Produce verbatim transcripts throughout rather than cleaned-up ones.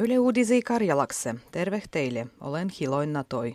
Yle Uudisi Karjalakse, terve teille, olen Hiloin Natoi.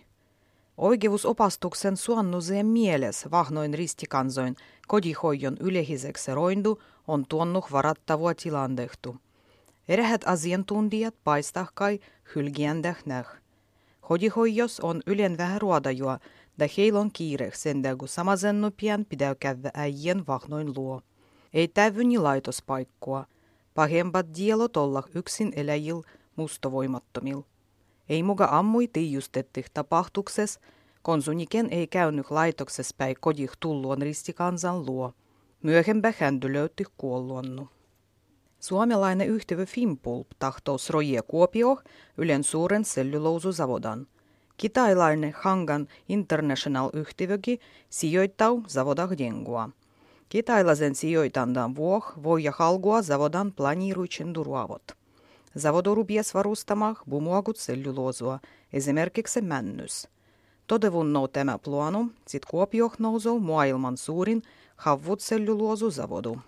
Oikeusopastuksen suonnuseen mieles vahnoin ristikansoin kodihoijon ylehiseksi roindu on tuonnut varattavua tilandehtu. Eräät asiantuntijat paistahkai hylgiändäh näh. Kodihoijos on ylen vähän ruodajua, da heillä on kiire sen kun samasennu pian pidäy käydä äijien vahnoin luo. Ei täyvyni laitospaikkua. Pahempat dielot olla yksin eläjil mustovoimattomil. Ei muka ammui tiijustettih tapahtukses, konsuniken ei käynyt laitoksessa päin kodih tulluon ristikansan luo. Myöhempä händy löytyi kuolluonnu. Suomalainen yhtiö Fimpulp tahtous rojia Kuopio Ylen suuren selluloosuzavodan. Kitailainen Hangan International yhtiöki sijoittau zavodah dengua. Kitailaisen sijoitandan vuoh voi halgua zavodan planiiruitsen duruavot. Zavodo rupies varustamah bumuagut selluloosua, esimerkiksi männys. Todevunnou tämä planu, sit Kuopioh nousou maailman suurin havvut selluloosuzavodu.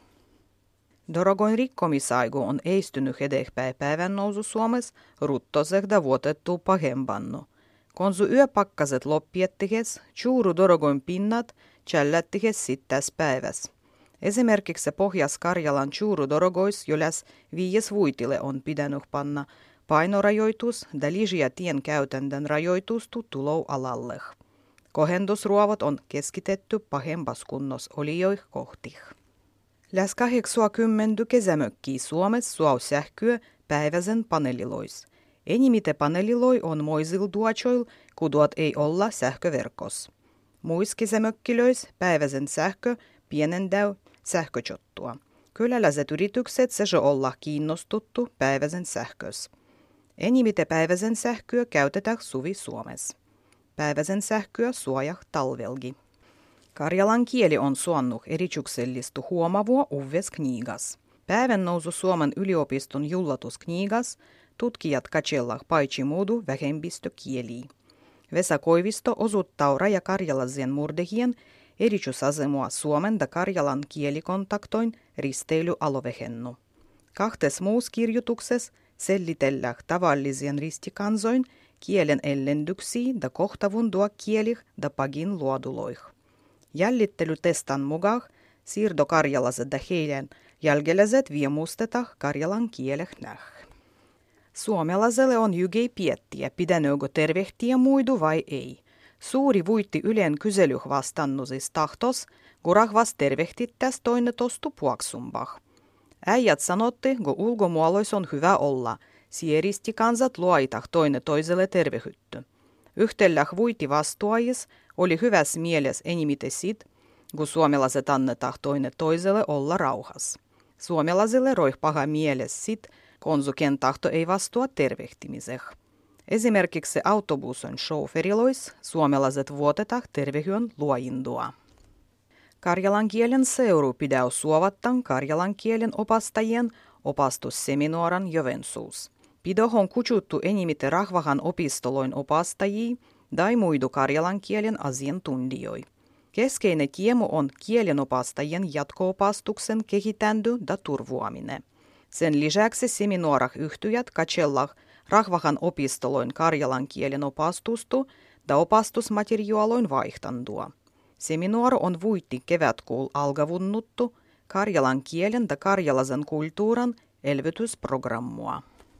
Dorogoin rikkomisaigu on eistynyt edespäin päivän nousu Suomessa ruttosehda vuotettu pahempannu. Konsu yöpakkaset loppiettihes, juuru dorogoin pinnat tjällättihes sittäs päiväs. Esimerkiksi Pohjas-Karjalan juuru dorogois joläs viies vuitille on pidänyt panna painorajoitus da liisiä tien käytännön rajoitustu tulou alalleh. Kohendusruovot on keskitetty pahempas kunnos olijoih kohtih. Läs kahdeksankymmentä kesämökkiä Suomessa suau sähköä päiväsen paneelilois. Enimite paneeliloi on moisil duachoil, kuduat ei olla sähköverkos. Muis kesämökkilöis päiväsen sähkö pienendäy sähköjottua. Kyläläiset yritykset se olla kiinnostuttu päiväsen sähkös. Enimite päiväsen sähköä käytetään suvi Suomessa. Päiväsen sähköä suojah talvelgi. Karjalan kieli on suonnut erityksellistä huomavua uves knigas. Päivän nousu Suomen yliopiston jullatusknigas tutkijat katsellah paitsi muudu vähemmistökieliä. Vesa Koivisto osuttaa rajakarjalaisen murdehien erityisasemua Suomen da Karjalan kielikontaktoin risteilyaluehennu. Kahtes muus kirjoituksessa sellitellään tavallisen ristikansoin kielen ellendyksiä da kohtavundua kielih da pagin luoduloih. Jäljittelutestan mukaan siirtokarjalaiset da heidän jälkeläiset viemustetaan karjalan kieleh näh. Suomalaiselle on jygei piettiä, pidänögö tervehtiä muidu vai ei. Suuri vuitti Ylen kyselyh vastannusis tahtos, kun rahvas tervehtittäs toinen tostu puaksumbah. Äijät sanotti, kun ulkomuolois on hyvä olla, sieristi kansat luoitah toinen toiselle tervehytty. Yhtelläh vuitti vastuajis oli hyväs mieles enimite sit, kun suomalaiset annetah toinen toiselle olla rauhas. Suomalaisille roih paha mieles sit, konsuken tahto ei vastua tervehtimiseh. Esimerkiksi autobuson chaufferilois suomalaiset vuotetah tervehyön luoindua. Karjalan kielen seuru pidäy suovattan karjalan kielen opastajien opastusseminaaran Joensuus. Pidohon kutsuttu enimite rahvahan opistoloin opastajia tai muidu karjalan kielen asiantuntijoi. Keskeinen tiemu on kielenopastajien jatko-opastuksen kehitändy da turvuaminen. Sen lisäksi seminaarah yhtyjät katsellah rahvahan opistoloin karjalan kielen opastustu da opastusmateriaaloin vaihtandua. Seminaar on vuitti kevätkuul algavunnuttu karjalan kielen da karjalaisen kulttuuran elvytysprogrammua.